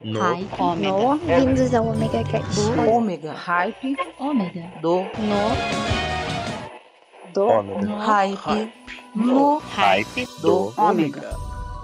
No. No. Bem-vindos ao Omega Cast. Do Ômega. Hype. Ômega. Do. Ômega. Hype. No. Hype Do Ômega.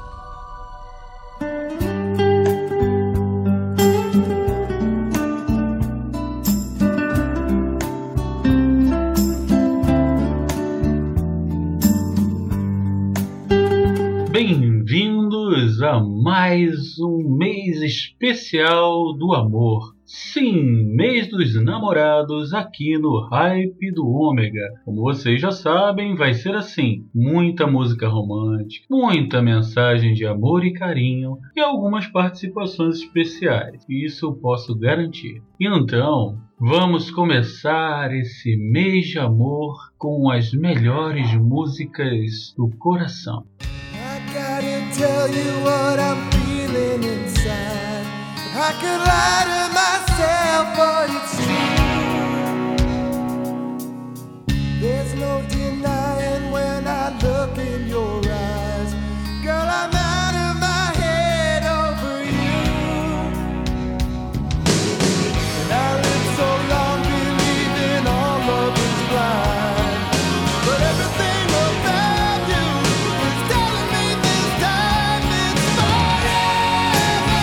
Bem-vindos a mais um mês especial do amor. Sim, mês dos namorados aqui no Hype do Ômega. Como vocês já sabem, vai ser assim: muita música romântica, muita mensagem de amor e carinho e algumas participações especiais. Isso eu posso garantir. Então, vamos começar esse mês de amor com as melhores músicas do coração. I gotta tell you what I'm feeling inside. I could lie to myself, but it's true. There's no denying when I look in your eyes. Girl, I'm out of my head over you. And I lived so long believing all love is blind. But everything about you is telling me this time it's forever.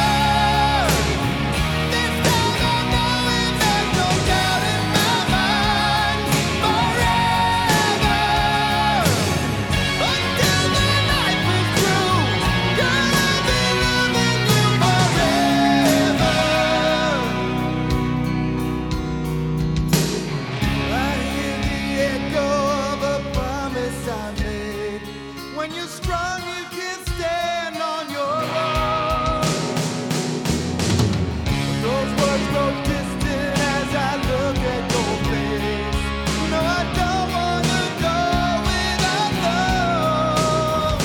This time I know it, there's no doubt in my mind. Forever. Until the night is through. Girl, I'll be loving you forever. I hear the echo of a promise I made. When you're strong, you can stand on your own. Those words grow distant as I look at your face. No, I don't wanna go without love.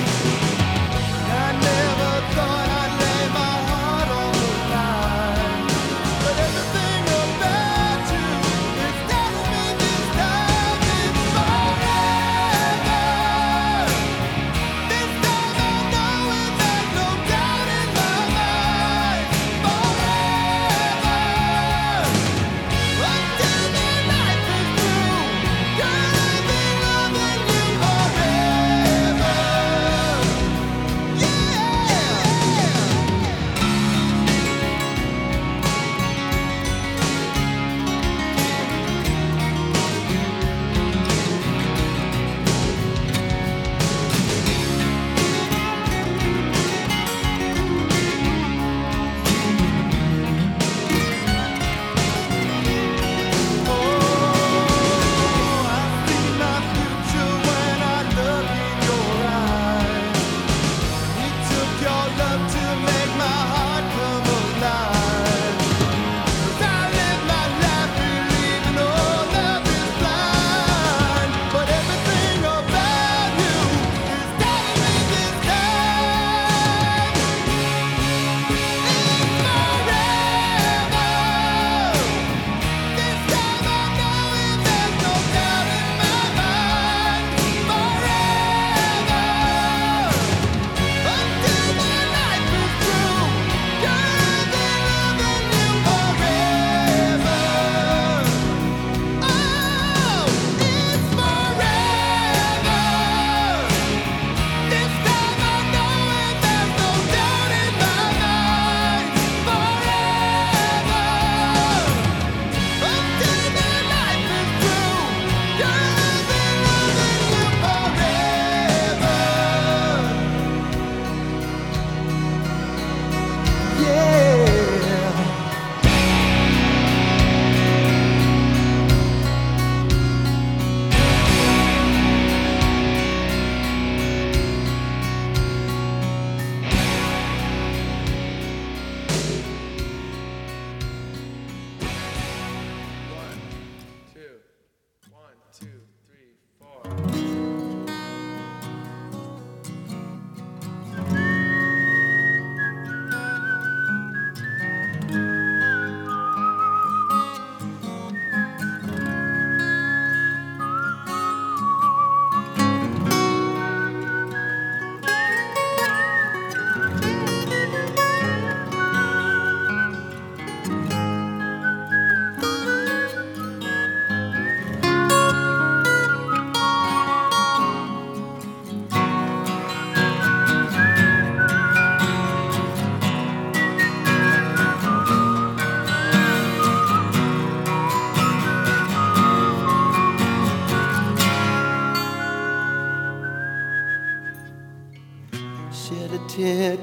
I never thought I'd lay my heart on the line. But everything about you is telling me this time it's forever. This time I know it, there's no doubt in my mind. Forever. Until the night is through. Girl, I'll be loving you forever. Yeah. Oh, I see my future when I look in your eyes. You took your love to make my heart come alive. 'Cause I live my life believing all love is blind. But everything about you is telling me this time it's forever. This time I know it, there's no doubt in my mind. Forever. Until the night is through. Girl, I'll be loving you forever. Oh, it's forever. This time I know it, there's no doubt in my mind. Forever. Until the night is through. Girl, I'll be loving you forever. Yeah. One, two, three, four.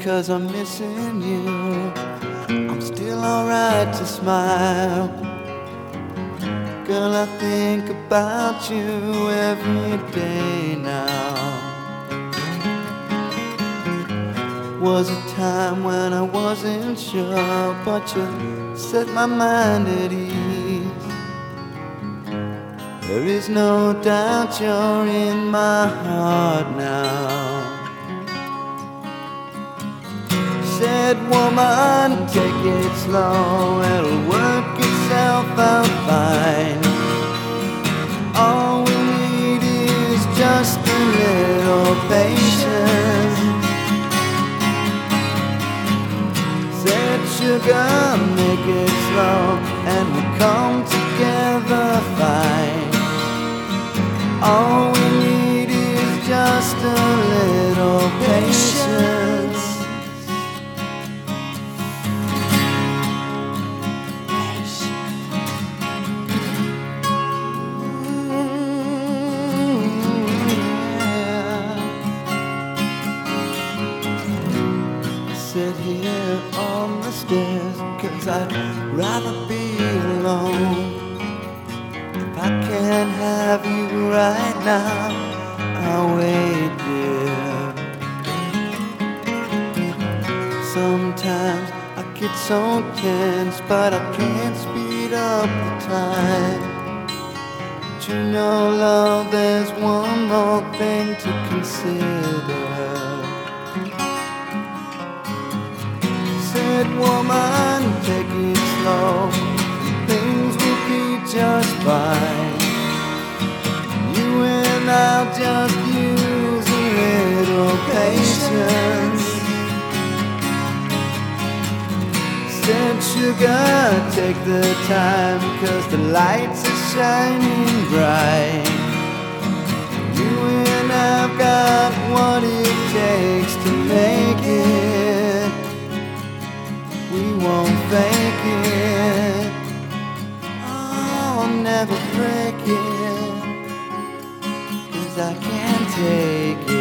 'cause I'm missing you. I'm still alright to smile. Girl, I think about you every day now. Was a time when I wasn't sure, but you set my mind at ease. There is no doubt you're in my heart now. Said, woman, take it slow, it'll work itself out fine. All we need is just a little patience. Said, sugar, make it slow, and we come together fine. All we need is just a little patience. Sit here on the stairs, 'cause I'd rather be alone. If I can't have you right now, I'll wait, dear. Sometimes I get so tense, but I can't speed up the time. But you know, love, there's one more thing to consider. Said, woman, take it slow, things will be just fine. You and I'll just use a little patience. Said, sugar, take the time, 'cause the lights are shining bright. You and I've got what it takes to make it. We won't fake it. I'll never break it, 'cause I can't take it.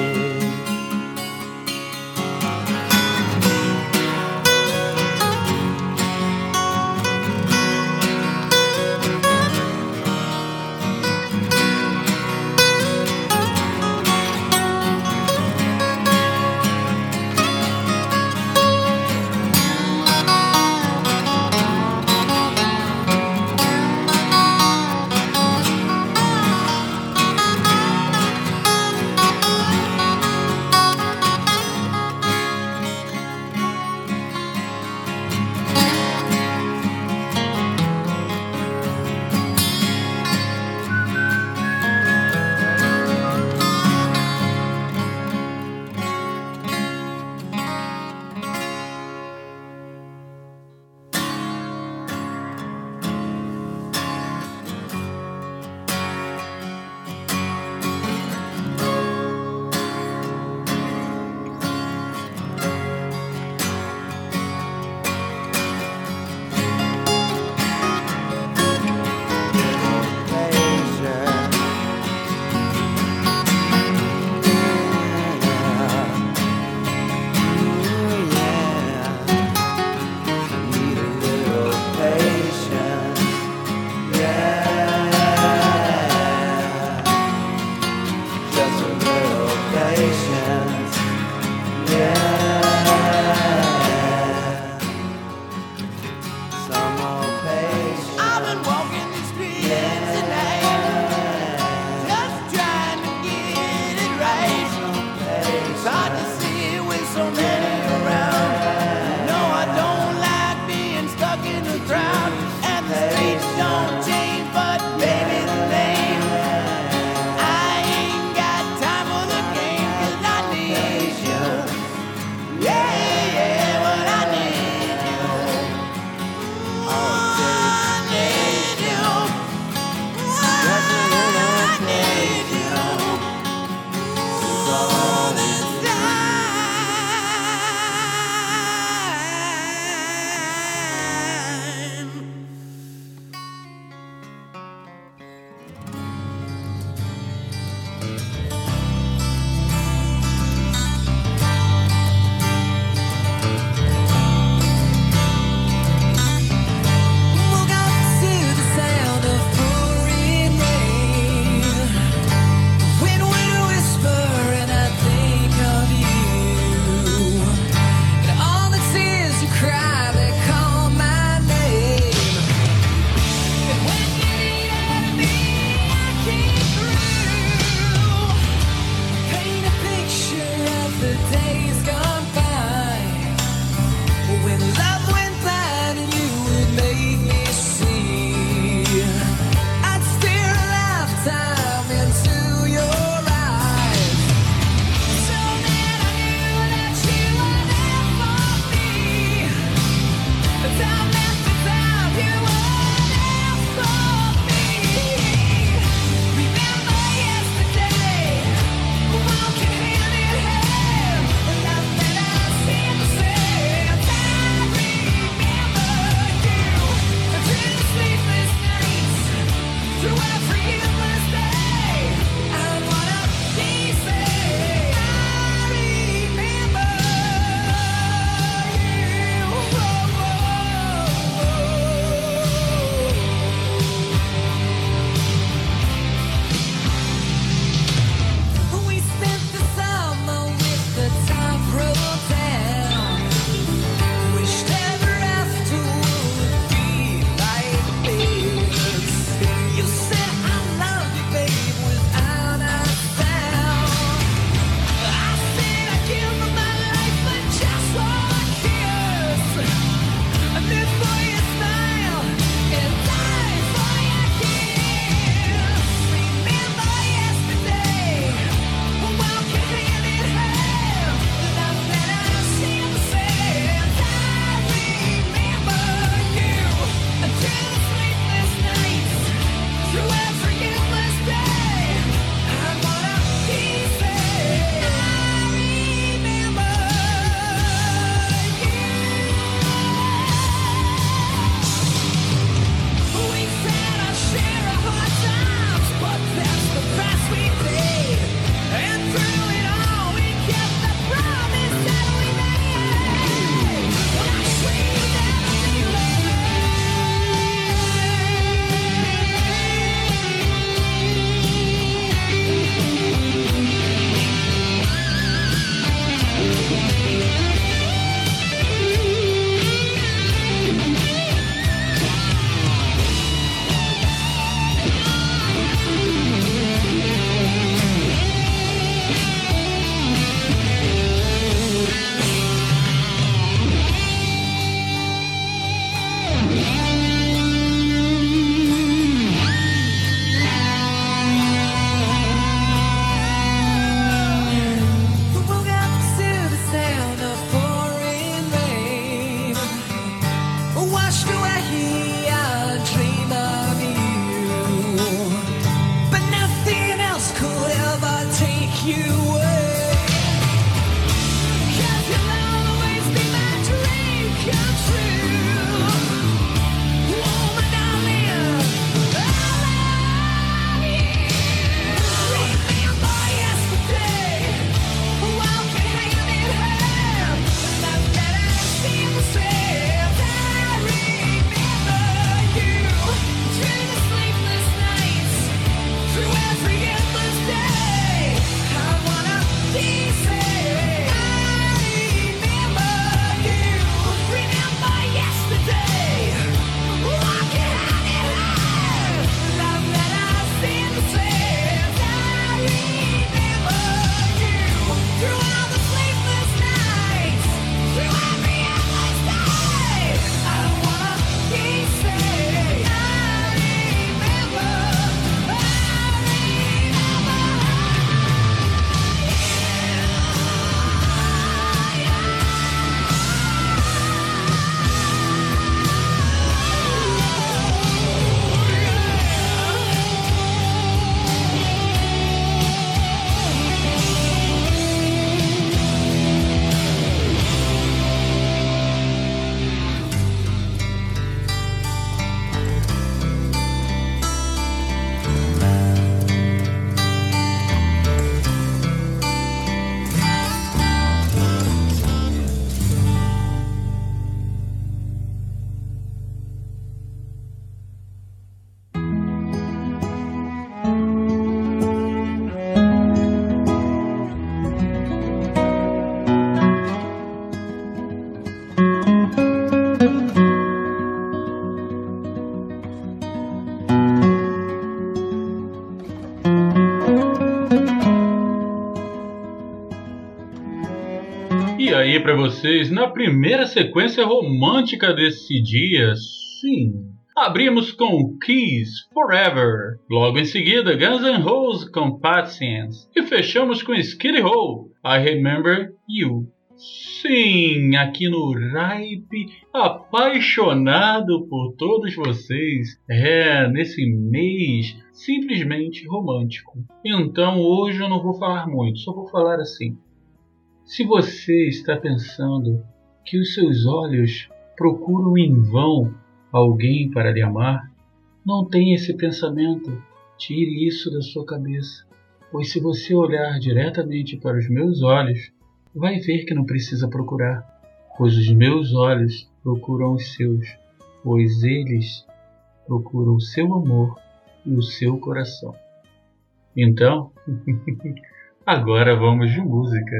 para vocês na primeira sequência romântica desse dia. Sim, abrimos com Kiss Forever, logo em seguida Guns N' Roses com Patience e fechamos com Skid Row, I Remember You. Sim, aqui no Hype, apaixonado por todos vocês, nesse mês simplesmente romântico. Então hoje eu não vou falar muito, só vou falar assim. Se você está pensando que os seus olhos procuram em vão alguém para lhe amar, não tenha esse pensamento, tire isso da sua cabeça, pois se você olhar diretamente para os meus olhos, vai ver que não precisa procurar, pois os meus olhos procuram os seus, pois eles procuram o seu amor e o seu coração. Então, agora vamos de música.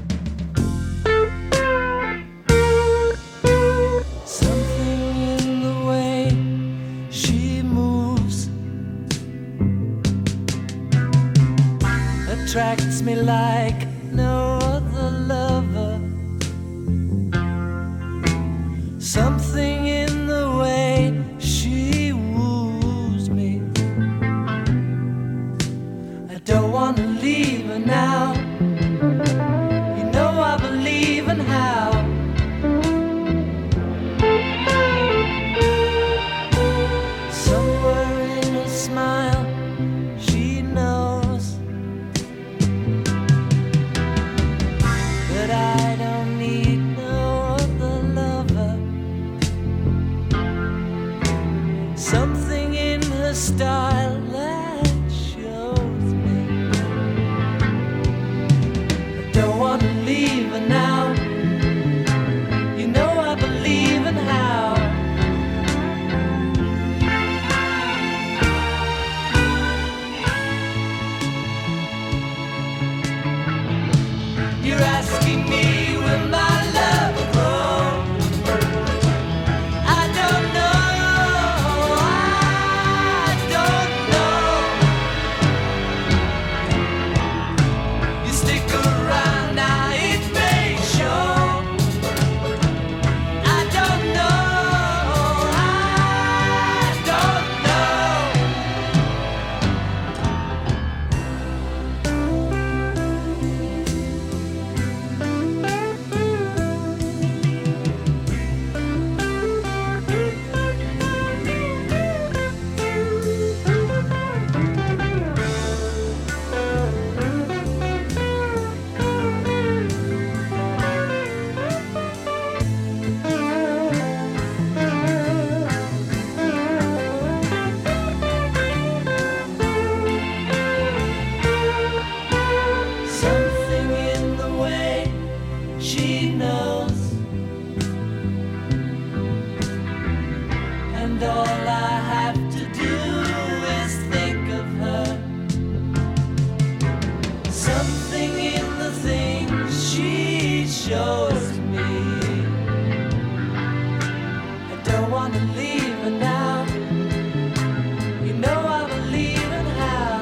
Attracts me like no other lover. Something in the way she woos me. I don't want to leave her now. You know I believe in how. Somewhere in a smile she knows that I don't need no other lover. Something in her style that shows me I don't want to leave her now. You know I believe in how. You're asking me when my love will grow. I don't know, I don't know. You stick around now, it may show. I don't know, I don't know. Something in the way she knows, and all I have to do is think of her. Something in the things she shows me. I don't want to leave her now. You know I believe in how.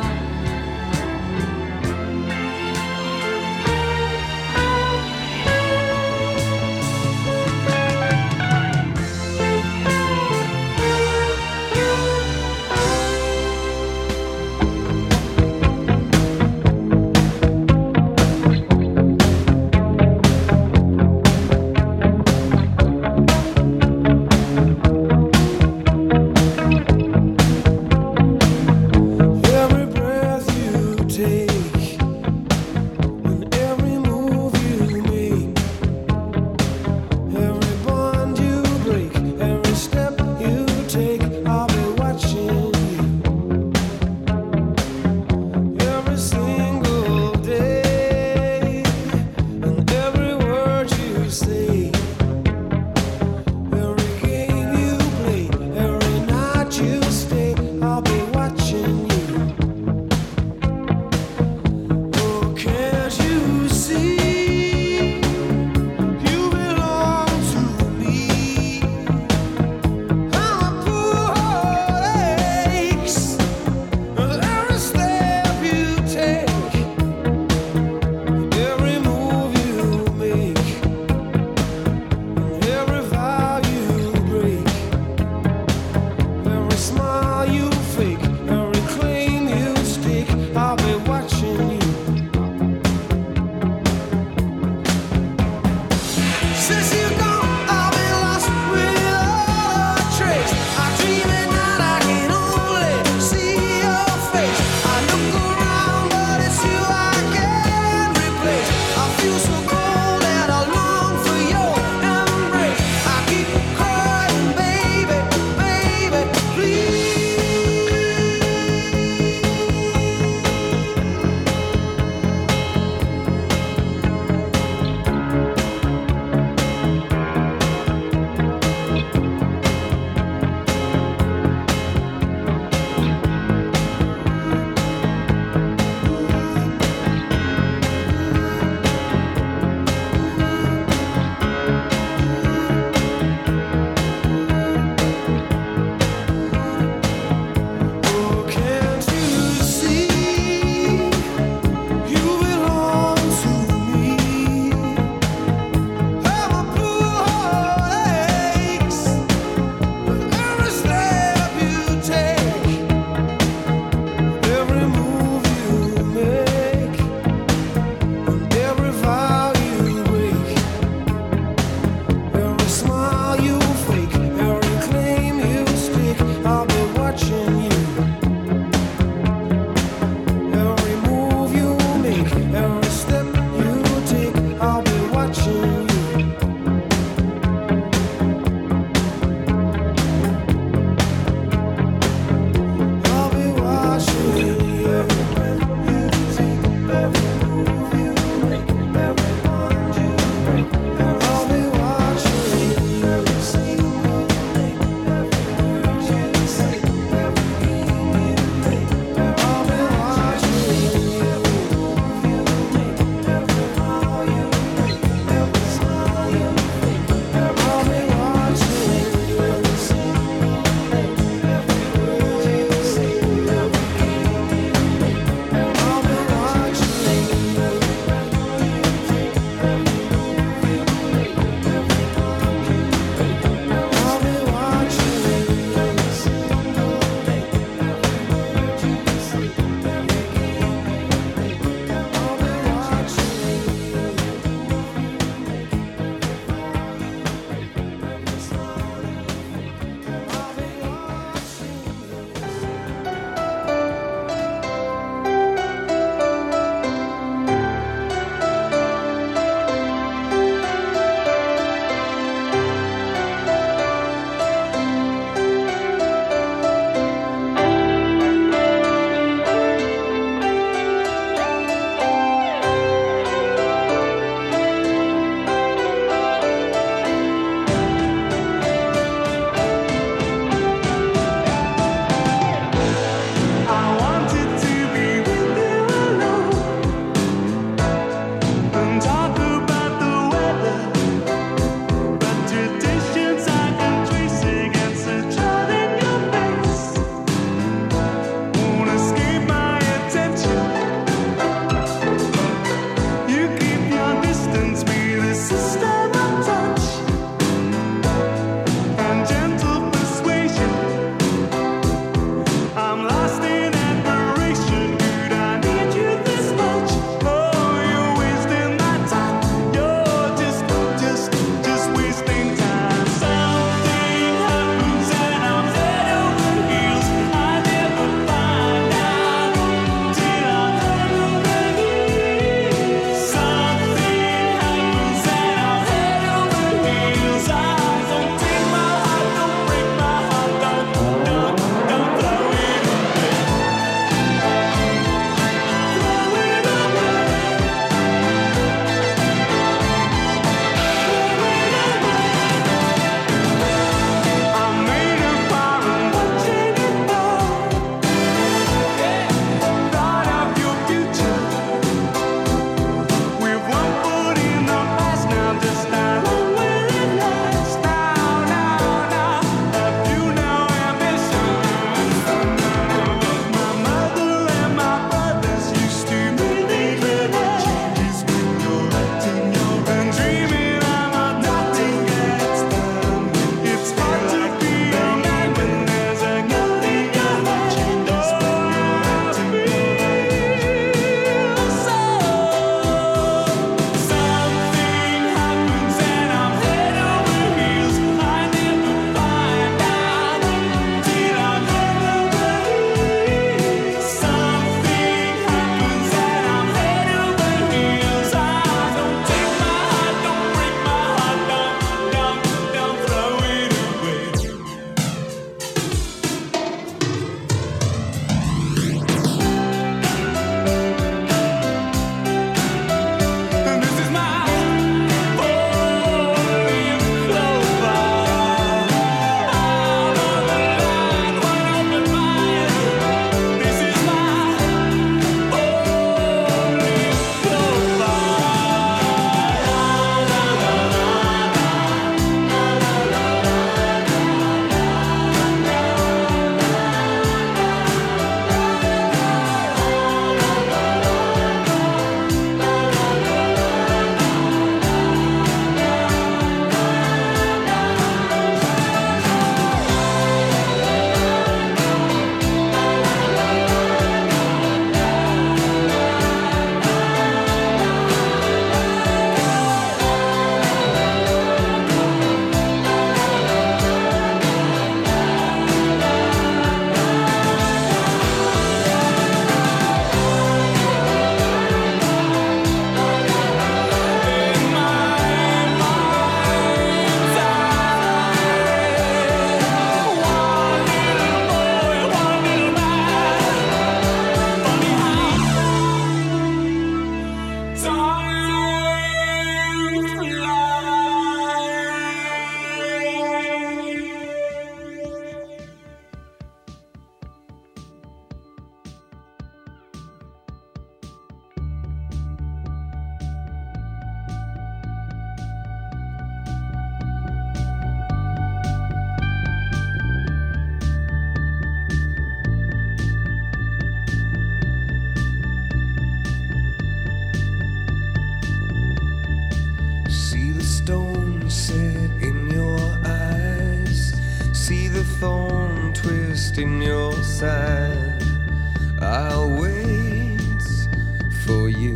a thorn twist in your side. I'll wait for you.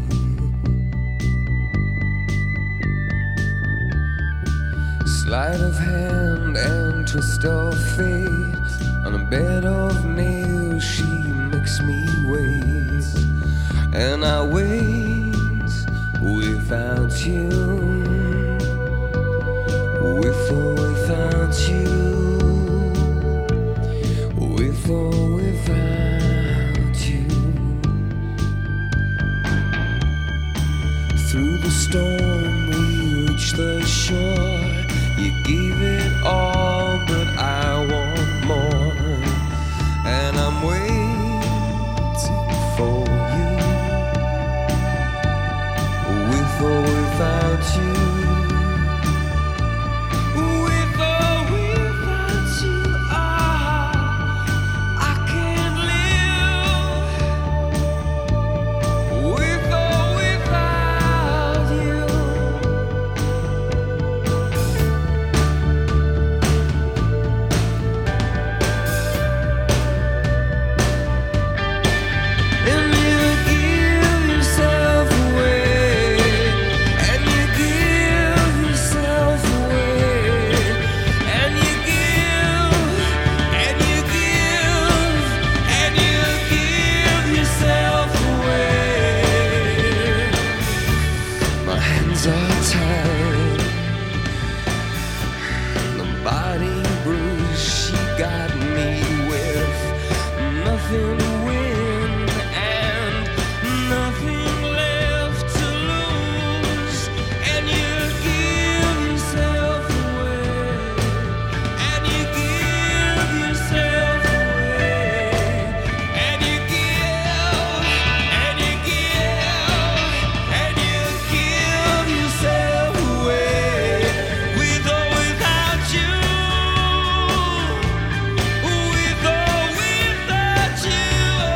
Sleight of hand and twist of fate. On a bed of nails she makes me wait. And I wait without you. With or without you. With or without you. Through the storm we reach the shore. You gave it all, but I want more. And I'm waiting for you. With or without you. With or without you, I can't live. With or without you. And you give yourself away. And you give yourself away. And you give. And you give. And you give yourself away. My hands are tied. The body bruise she got me with. Nothing to win and nothing left to lose. And you give yourself away. And you give yourself away. And you give. And you give. And you give yourself away. With or without you. With or without you,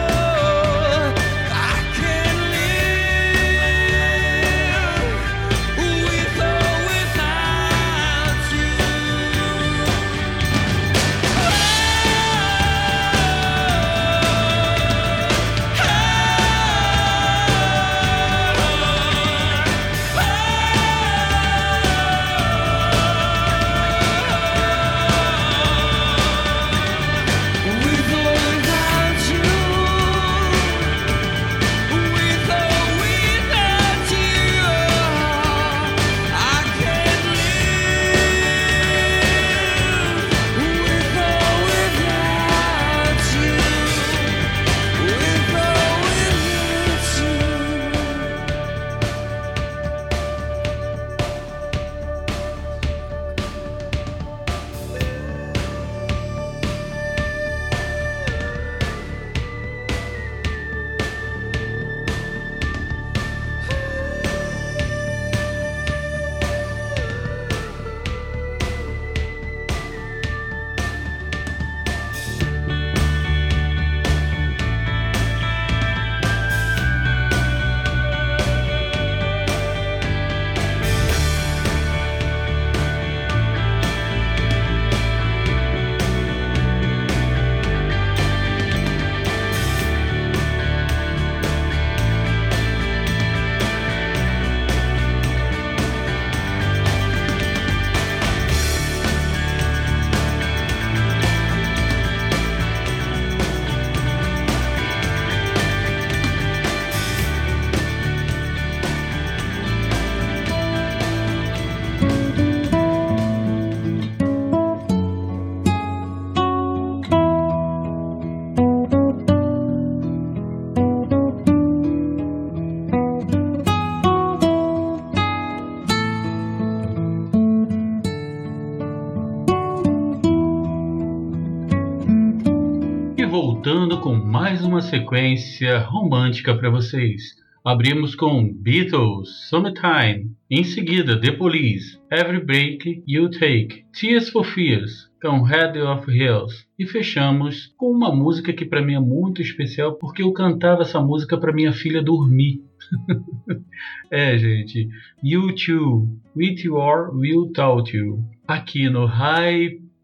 I can't live. With or without you. With or without you. With or without you, I can't live. With or without you. With or E voltando com mais uma sequência romântica para vocês. Abrimos com Beatles, Summertime. Em seguida, The Police, Every Break You Take. Tears for Fears, com Head of Hills. E fechamos com uma música que para mim é muito especial, porque eu cantava essa música para minha filha dormir. É, gente. U2, With Your Will Taught You. Aqui no Hype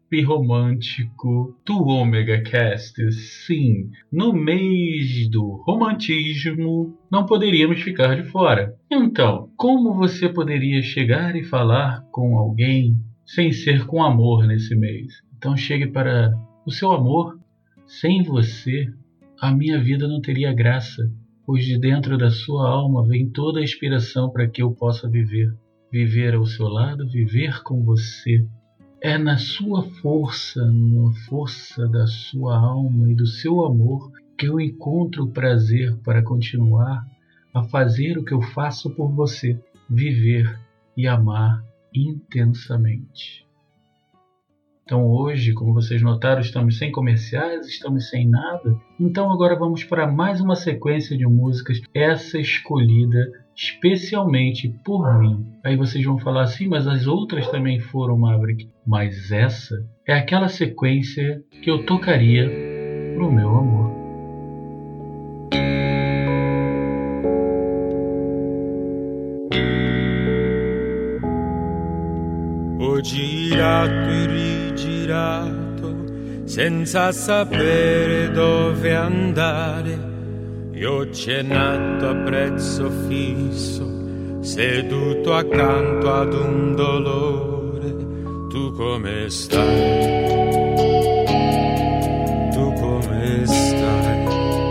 romântico do Omega Cast. Sim, no mês do romantismo, não poderíamos ficar de fora. Então, como você poderia chegar e falar com alguém sem ser com amor nesse mês? Então chegue para o seu amor. Sem você, a minha vida não teria graça, pois de dentro da sua alma vem toda a inspiração para que eu possa viver. Viver ao seu lado, viver com você. É na sua força, na força da sua alma e do seu amor que eu encontro o prazer para continuar a fazer o que eu faço por você. Viver e amar intensamente. Então hoje, como vocês notaram, estamos sem comerciais, estamos sem nada. Então agora vamos para mais uma sequência de músicas, essa escolhida especialmente por mim. Aí vocês vão falar assim, mas as outras também foram, Maverick. Mas essa é aquela sequência que eu tocaria pro meu amor. Ho girato e rigirato senza sapere dove andare. Io ho cenato a prezzo fisso, seduto accanto ad un dolore. Tu come stai? Tu come stai?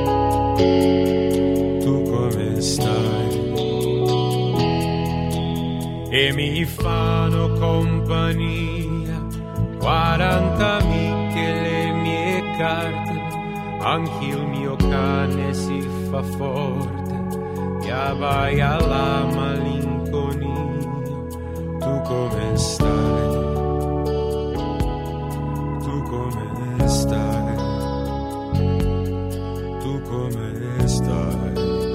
Tu come stai? E mi fanno compagnia 40 amiche e le mie carte, anche il mio cane si fa forte e vai alla malinconia. Tu come stai? Tu come stai? Tu come stai?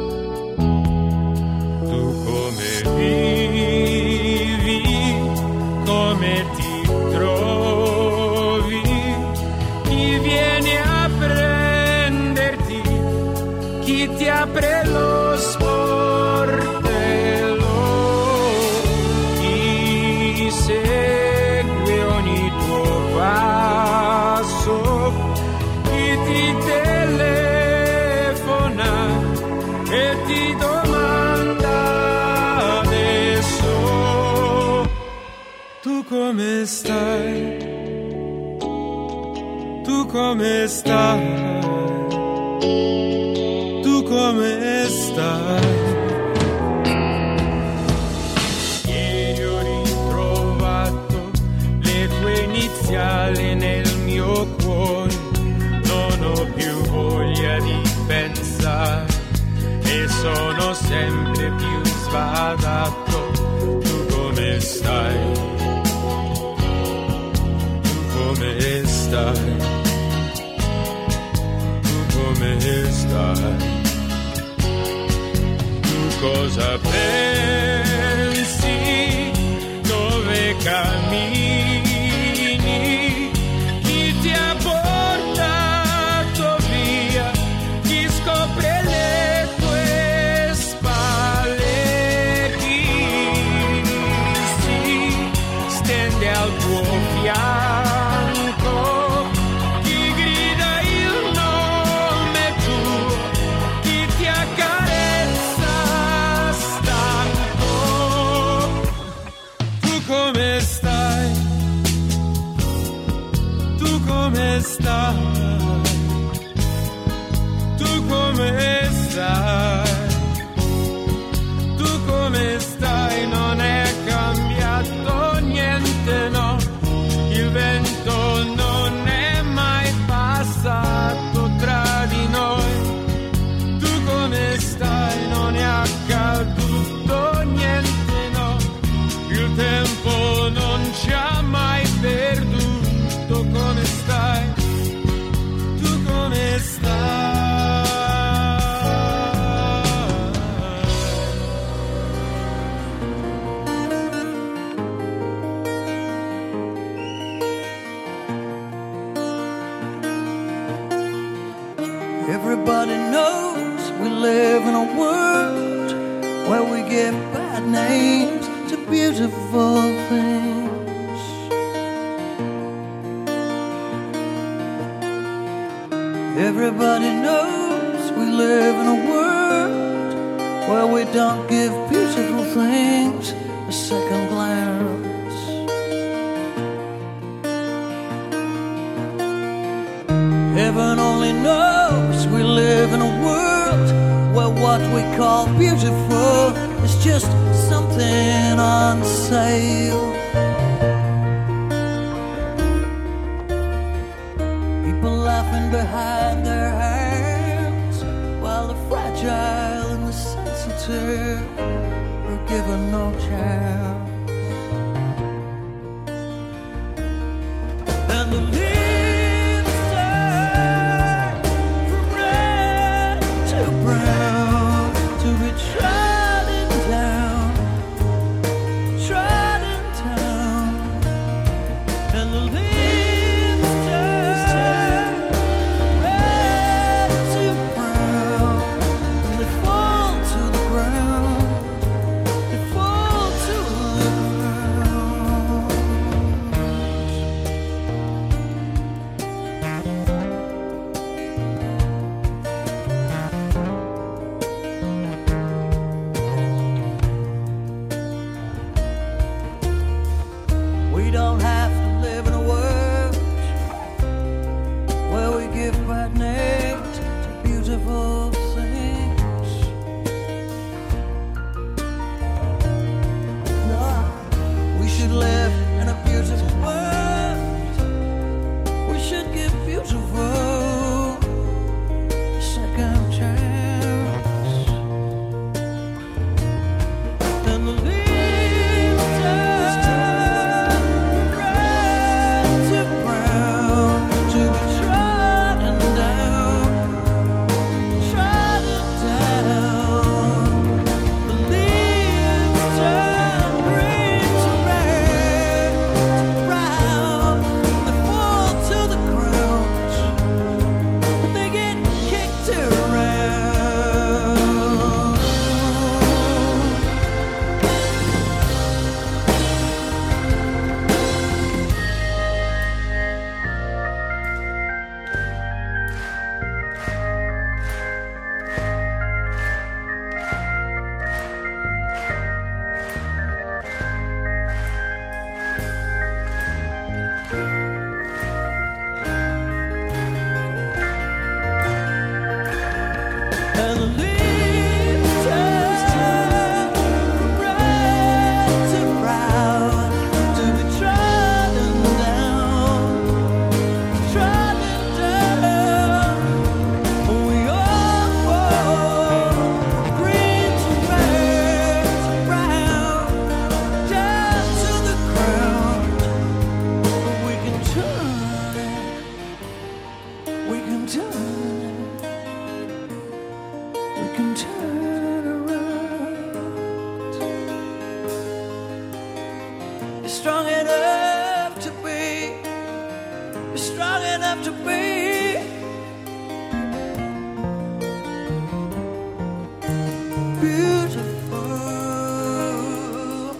Tu come vivi? Come ti trovi? Chi viene a prenderti? Chi ti apre lo sportello? Chi segue ogni tuo passo? Chi ti telefona e ti domanda adesso? Tu come stai? Tu come stai? Tu come stai? Ieri ho ritrovato le tue iniziali nel mio cuore, non ho più voglia di pensare e sono sempre più sbadato. Tu come stai? Tu come stai? Tu come stai? Tu cosa pensi? Dove cammini? Chi ti ha portato via? Chi scopre le tue spalle? Chi si stende al tuo fianco? Chi grida il nome tuo? Chi ti accarezza stanco? Tu come stai? Tu come stai? Tu come stai? Tu come stai? Non è cambiato niente, no. Il vento non è mai passato tra di noi. Tu come stai? Non è accaduto niente, no. Il tempo non ci ha mai perduto. Come stai? Tu come stai? Everybody knows we live in a world where we give bad names to beautiful things. Everybody knows we live in a world where we don't give beautiful things a second glance. Heaven only knows we live in a world where what we call beautiful is just something on sale. People laughing behind their hands while the fragile and the sensitive are given no chance. And the leaves turn from red to brown to be trodden down, trodden down. And the leaves turn red to brown, and they fall to the ground. They fall to the ground. We don't have to live in a world where we give bad names to beautiful things. No, we should live in a beautiful world. We should give beautiful a second chance. And the leaves turn red to brown to be trodden down, trodden down. The leaves turn green to red to brown. They fall to the ground. They get kicked around. And the leaves turn from red to brown to be trodden down, trodden down. We all fall green to red to brown, down to the ground. But we can turn it, we can turn it. We can turn around. You're strong enough to be. You're strong enough to be. Beautiful.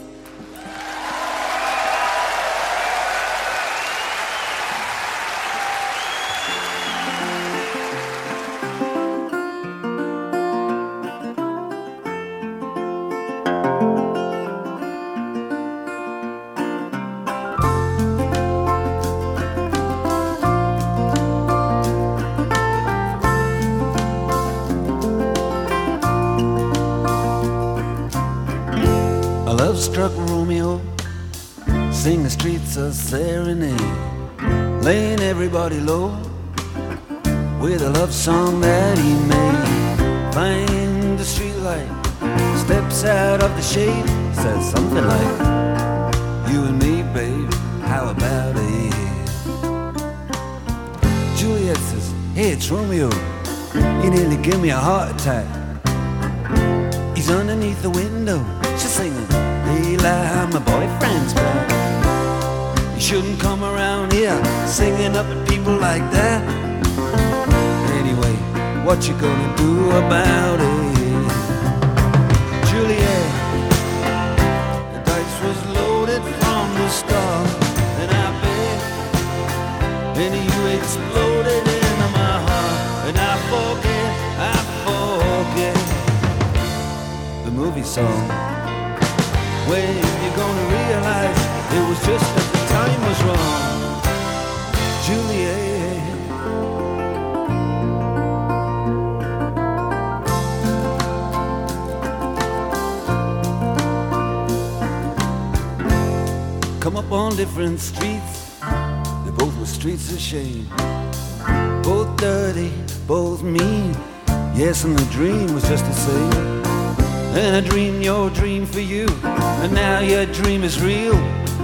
A love-struck Romeo sing the streets a serenade, laying everybody low with a love song that he made. Find the streetlight, steps out of the shade, says something like, "You and me, babe, how about it?" Juliet says, "Hey, it's Romeo. You nearly give me a heart attack." He's underneath the window. She's singing, "Eli, my boyfriend's back." You shouldn't come around here singing up at people like that. Anyway, what you gonna do about it? Juliet, the dice was loaded from the start, and I bet, and you exploded into my heart. And I forget the movie song. When you're gonna realize it was just that the time was wrong, Juliet. Come up on different streets, they both were streets of shame. Both dirty, both mean, yes, and the dream was just the same. And I dreamed your dream for you, and now your dream is real.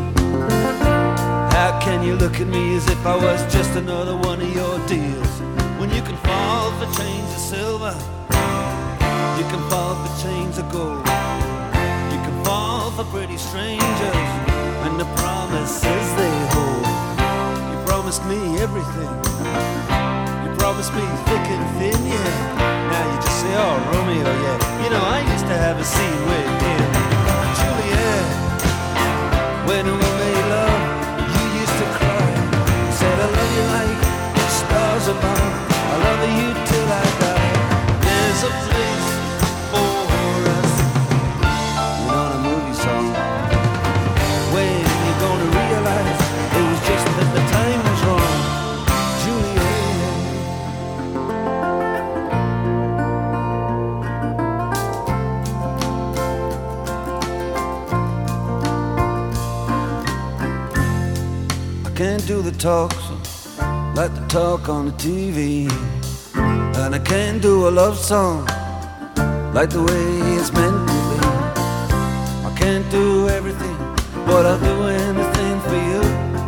How can you look at me as if I was just another one of your deals? When you can fall for chains of silver, you can fall for chains of gold, you can fall for pretty strangers and the promises they hold. You promised me everything, you promised me thick and thin, yeah. Now you just say, oh, Romeo, yeah. You know, I used to have a scene with him, Juliet. When we made love, you used to cry. You said, I love you like the stars above, I love you till I die. There's a place for us. You know, the movie song. When you're gonna realize it was just that the time was wrong, Juliet. I can't do the talk like the talk on the TV, and I can't do a love song like the way it's meant to be. I can't do everything, but I'll do anything for you.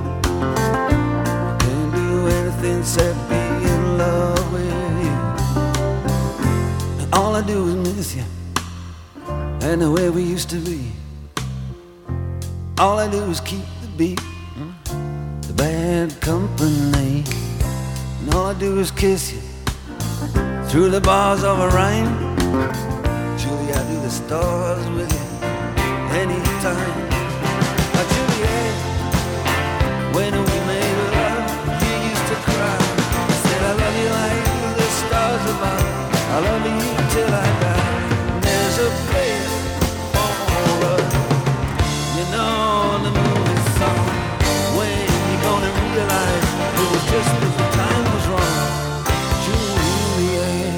I can't do anything except be in love with you. And all I do is miss you, and the way we used to be. All I do is keep the beat, the bad company. And all I do is kiss you through the bars of a rhyme. Julie, I do the stars with you anytime. Juliet, when we made love, you used to cry. You said, I love you like the stars above, I love you till I die. There's a place for us, you know, the movie song. When you're gonna realize it was just as the time was wrong, Juliet.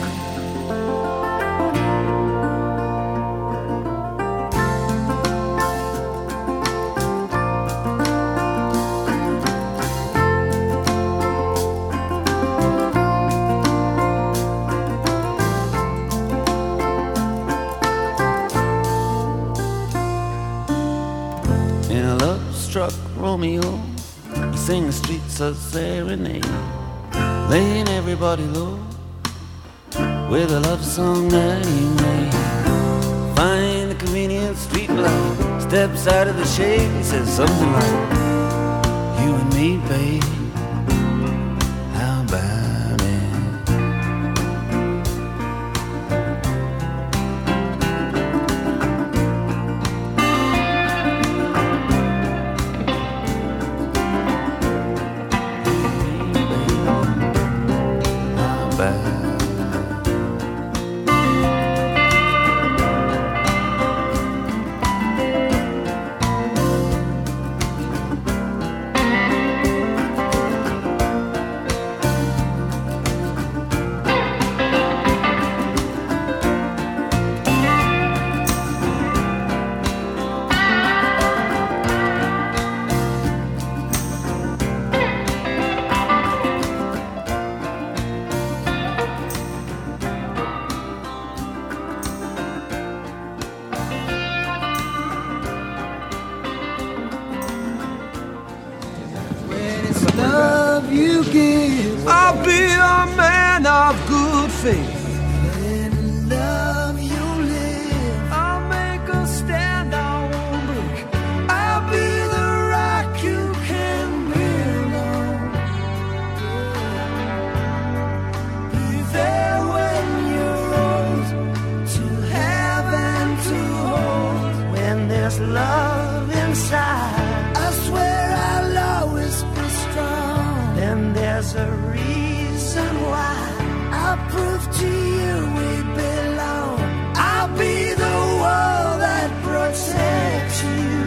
In a love-struck Romeo, he sang the streets of serenade, laying everybody low with a love song that he made. Find the convenient street light, steps out of the shade, he says something like, you and me, babe, how about it? Love you give, I'll be a man of good faith. In love you live, I'll make a stand, I won't break. I'll be the rock you can build on. Be there when you're old, to have and to hold. When there's love inside, I swear I'll always be strong. Then there's a reason why I'll prove to you we belong. I'll be the wall that protects you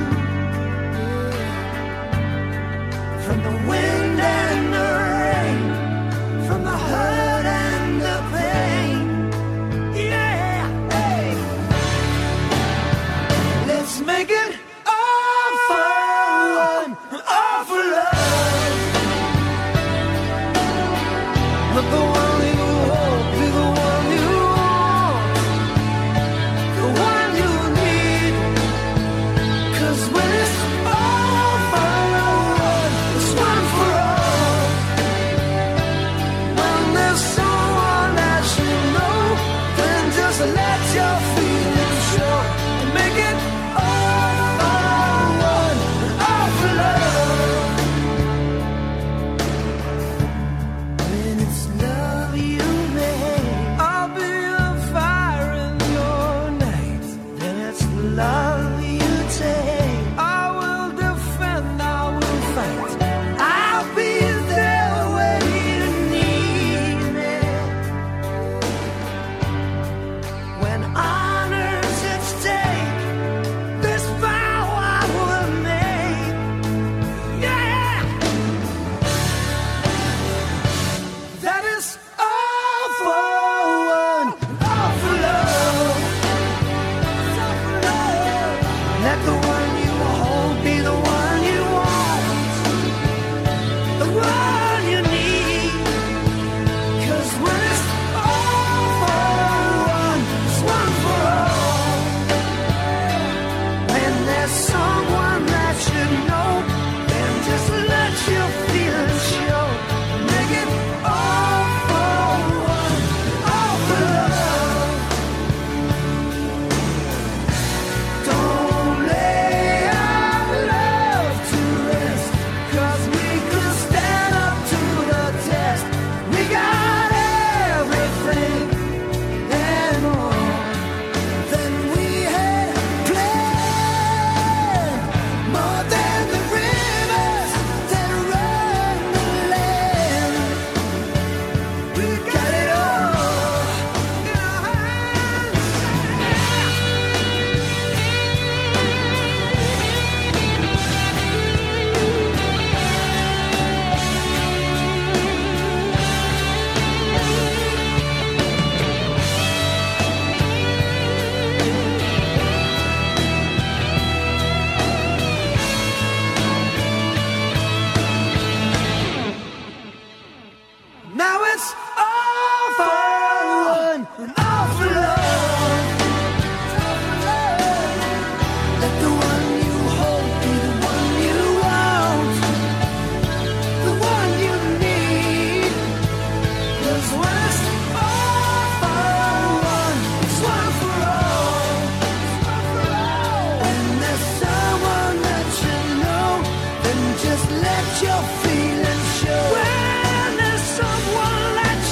from the wind and the rain, from the hurt and the pain. Yeah, hey. Let's make it all for one, all for love. Let the one you hold be the one you want, the one you need. 'Cause when it's all for one, it's one for all. When there's someone that you know, then just let your feelings show. Make it all for one, all for love. When it's love you make, I'll be a fire in your night. Then it's love you take, I will defend, I will fight. I'll be there when you need me. When honor's at stake, this vow I will make. Yeah, that is all for one, all for love. All for love. Let the one you hold be the one you want, the one you need. 'Cause when it's all for one, it's one for all. When there's someone that you know, then just let your feelings show. Make it all for one, all for love. Don't lay our love to rest, 'cause we could stand up to the test. We got everything and more than we had planned, more than the rivers that run the land. We got it all in our hands. Now it's all for one, all for love. Let the one you hold be the one you want, the one you need. 'Cause when it's all for one, it's one for all. When there's someone that you know, then just let your feelings show. When there's someone that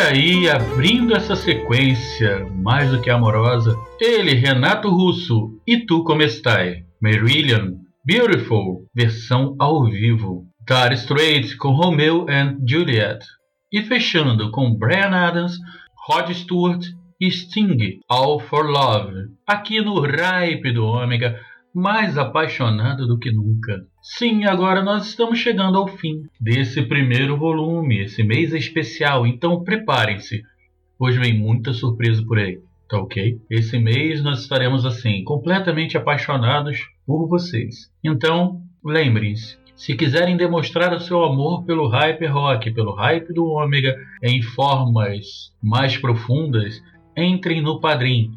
aí, abrindo essa sequência mais do que amorosa, ele, Renato Russo, E Tu Como Estai, Marillion, Beautiful, versão ao vivo, Dire Straits com Romeo and Juliet, e fechando com Bryan Adams, Rod Stewart e Sting, All for Love, aqui no Hype do Ômega, mais apaixonado do que nunca. Sim, agora nós estamos chegando ao fim desse primeiro volume, esse mês especial, então preparem-se, hoje vem muita surpresa por aí, tá ok? Esse mês nós estaremos assim, completamente apaixonados por vocês. Então, lembrem-se, se quiserem demonstrar o seu amor pelo Hype Rock, pelo Hype do Ômega, em formas mais profundas, entrem no Padrim,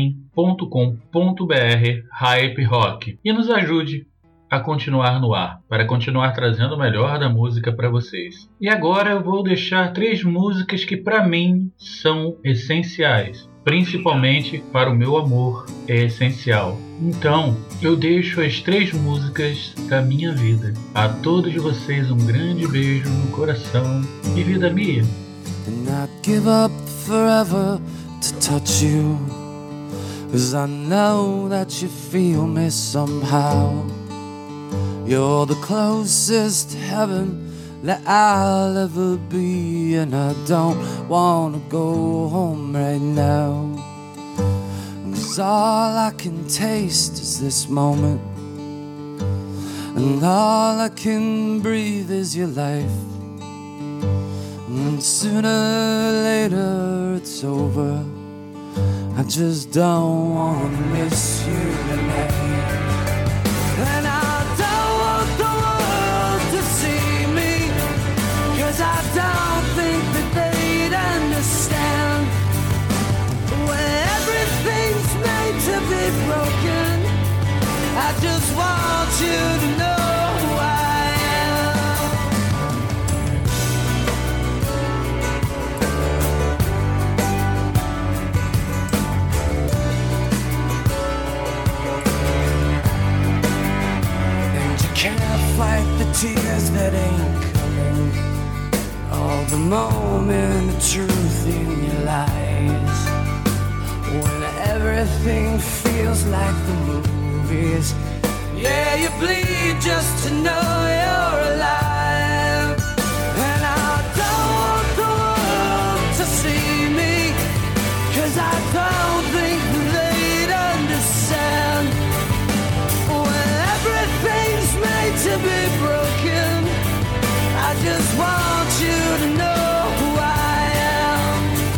padrim.com.br/Hype Rock e nos ajude a continuar no ar, para continuar trazendo o melhor da música para vocês. E agora eu vou deixar 3 músicas que para mim são essenciais, principalmente para o meu amor é essencial. Então, eu deixo as 3 músicas da minha vida. A todos vocês um grande beijo no coração e vida minha. And I'd give up forever to touch you, 'cause I know that you feel me somehow. You're the closest to heaven that I'll ever be, and I don't wanna go home right now, 'cause all I can taste is this moment, and all I can breathe is your life. And sooner or later it's over. I just don't wanna miss you tonight. And I don't want the world to see me, 'cause I don't think that they'd understand. When everything's made to be broken, I just want you to know who I am. Can't fight the tears that ain't coming, all the moment of truth in your eyes. When everything feels like the movies, yeah, you bleed just to know you're alive. And I don't want the world to see me, 'cause I don't think they'd understand. When everything's made to be broken, I just want you to know who I am.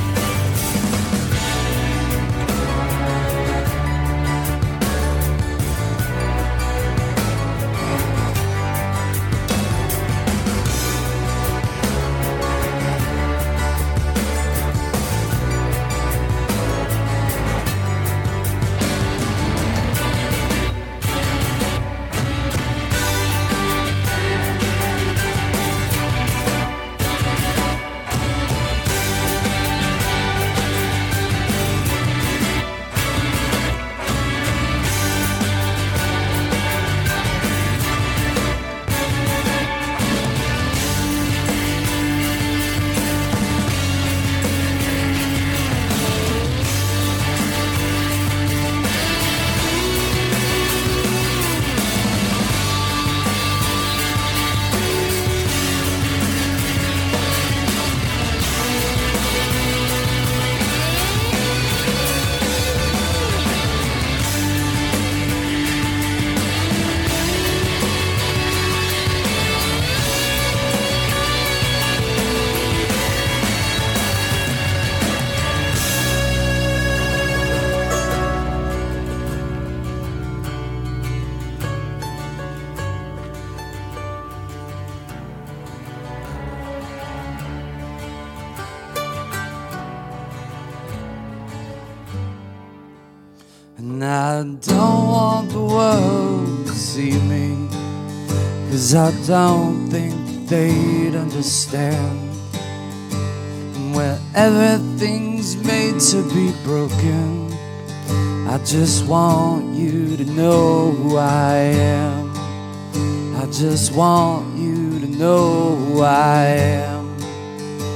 And I don't want the world to see me, 'cause I don't think they'd understand. Where everything's made to be broken, I just want you to know who I am. I just want you to know who I am. I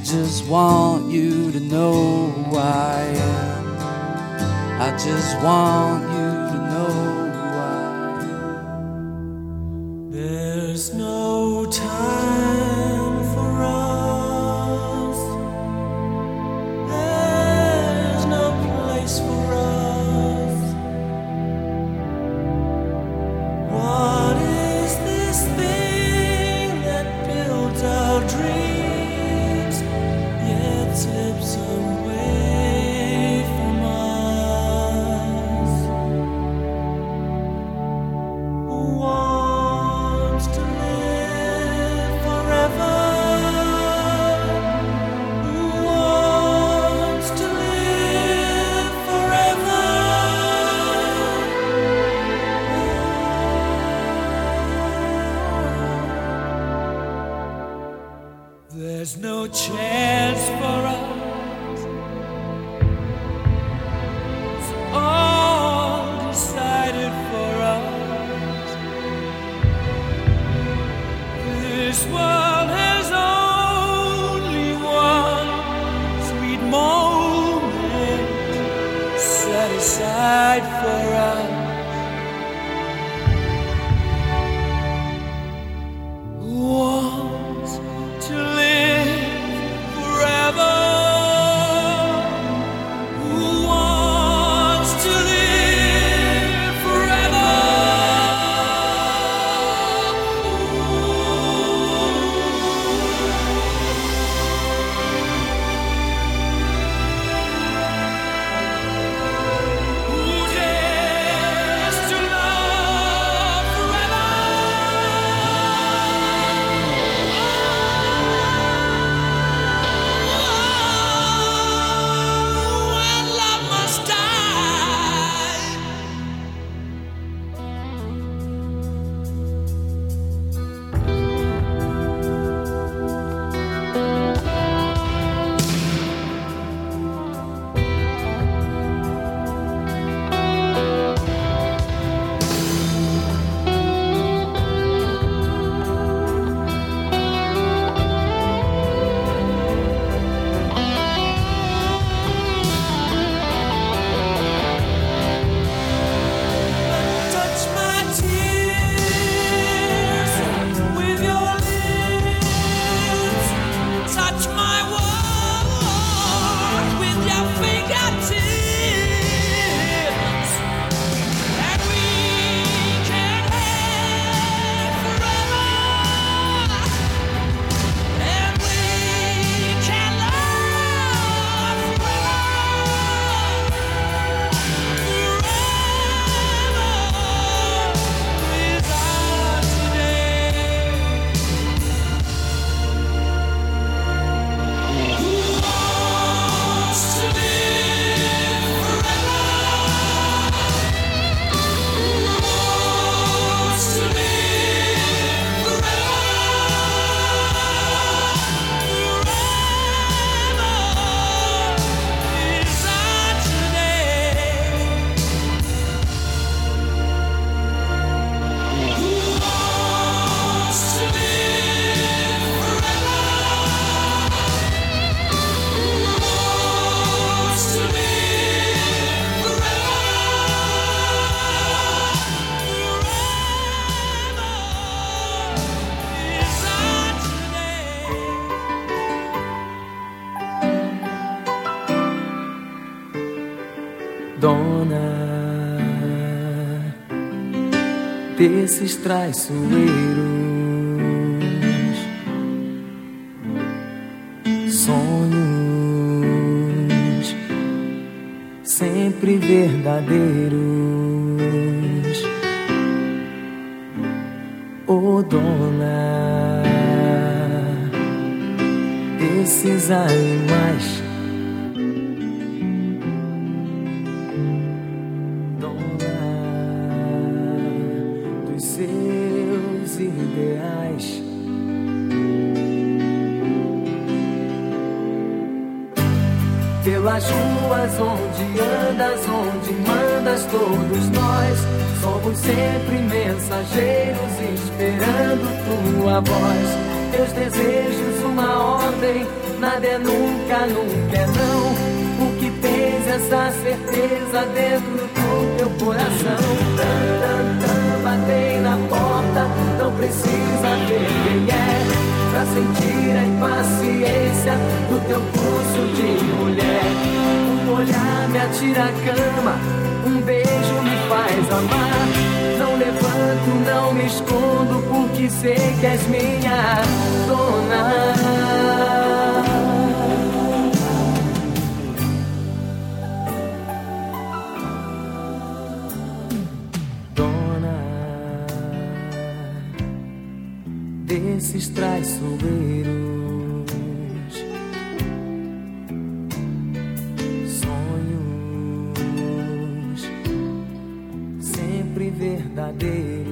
just want you to know who I am. I just want you to know who I am. There's no time for us. There's no place for us. What is this thing that builds our dreams, yet slips away from us? Who wants to live forever? Who wants to live forever? There's no chance for us. It's all decided for us. This world has only one sweet moment set aside for us. Who wants to live forever? Who wants to live forever? Who dares to love forever? When love must die. Touch my tears with your lips. Touch my world with your fingertips. And we can have forever. And we can love forever. Dona desses traiçoeiros, sonhos sempre verdadeiros. Ô dona desses animais, seus ideais. Pelas ruas onde andas, onde mandas, todos nós somos sempre mensageiros esperando tua voz. Teus desejos, uma ordem, nada é nunca, nunca é não. Porque tens essa certeza dentro do teu coração. Batei na porta, não precisa ver quem é, pra sentir a impaciência do teu pulso de mulher. Um olhar me atira a cama, um beijo me faz amar. Não levanto, não me escondo, porque sei que és minha dona. Desses traiçoeiros, sonhos sempre verdadeiros.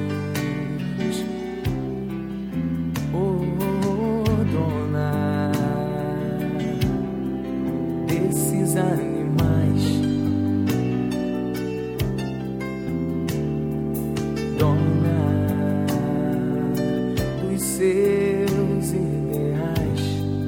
Oh, dona desses animais, dona seus ideais.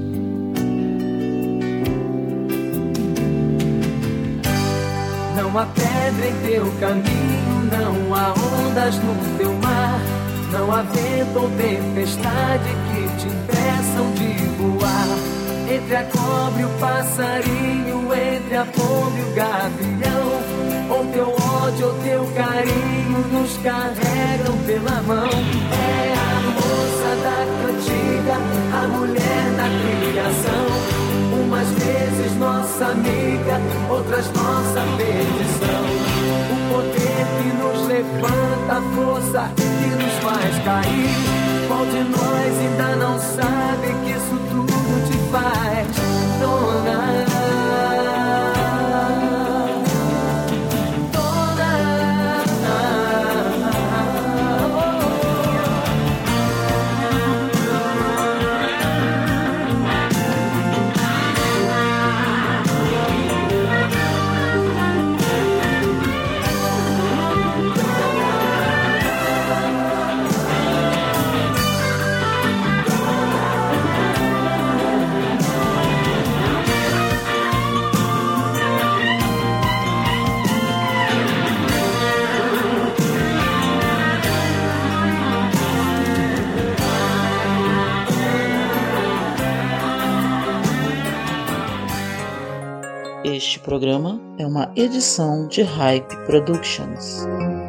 Não há pedra em teu caminho, não há ondas no teu mar, não há vento ou tempestade que te impeçam de voar. Entre a cobra e o passarinho, entre a pomba e o gavião, ou teu ódio ou teu carinho nos carregam pela mão. É a moça da cantiga, a mulher da criação. Umas vezes nossa amiga, outras nossa perdição. O poder que nos levanta, a força que nos faz cair. Qual de nós ainda não sabe que isso tudo te faz, dona? Este programa é uma edição de Hype Productions.